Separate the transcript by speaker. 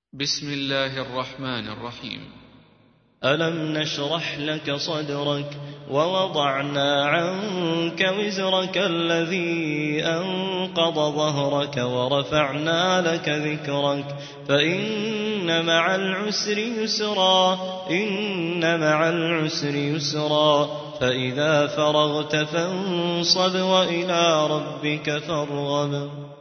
Speaker 1: بسم الله الرحمن الرحيم.
Speaker 2: ألم نشرح لك صدرك ووضعنا عنك وزرك الذي أنقض ظهرك ورفعنا لك ذكرك فإن مع العسر يسرا فإذا فرغت فانصب وإلى ربك فارغب.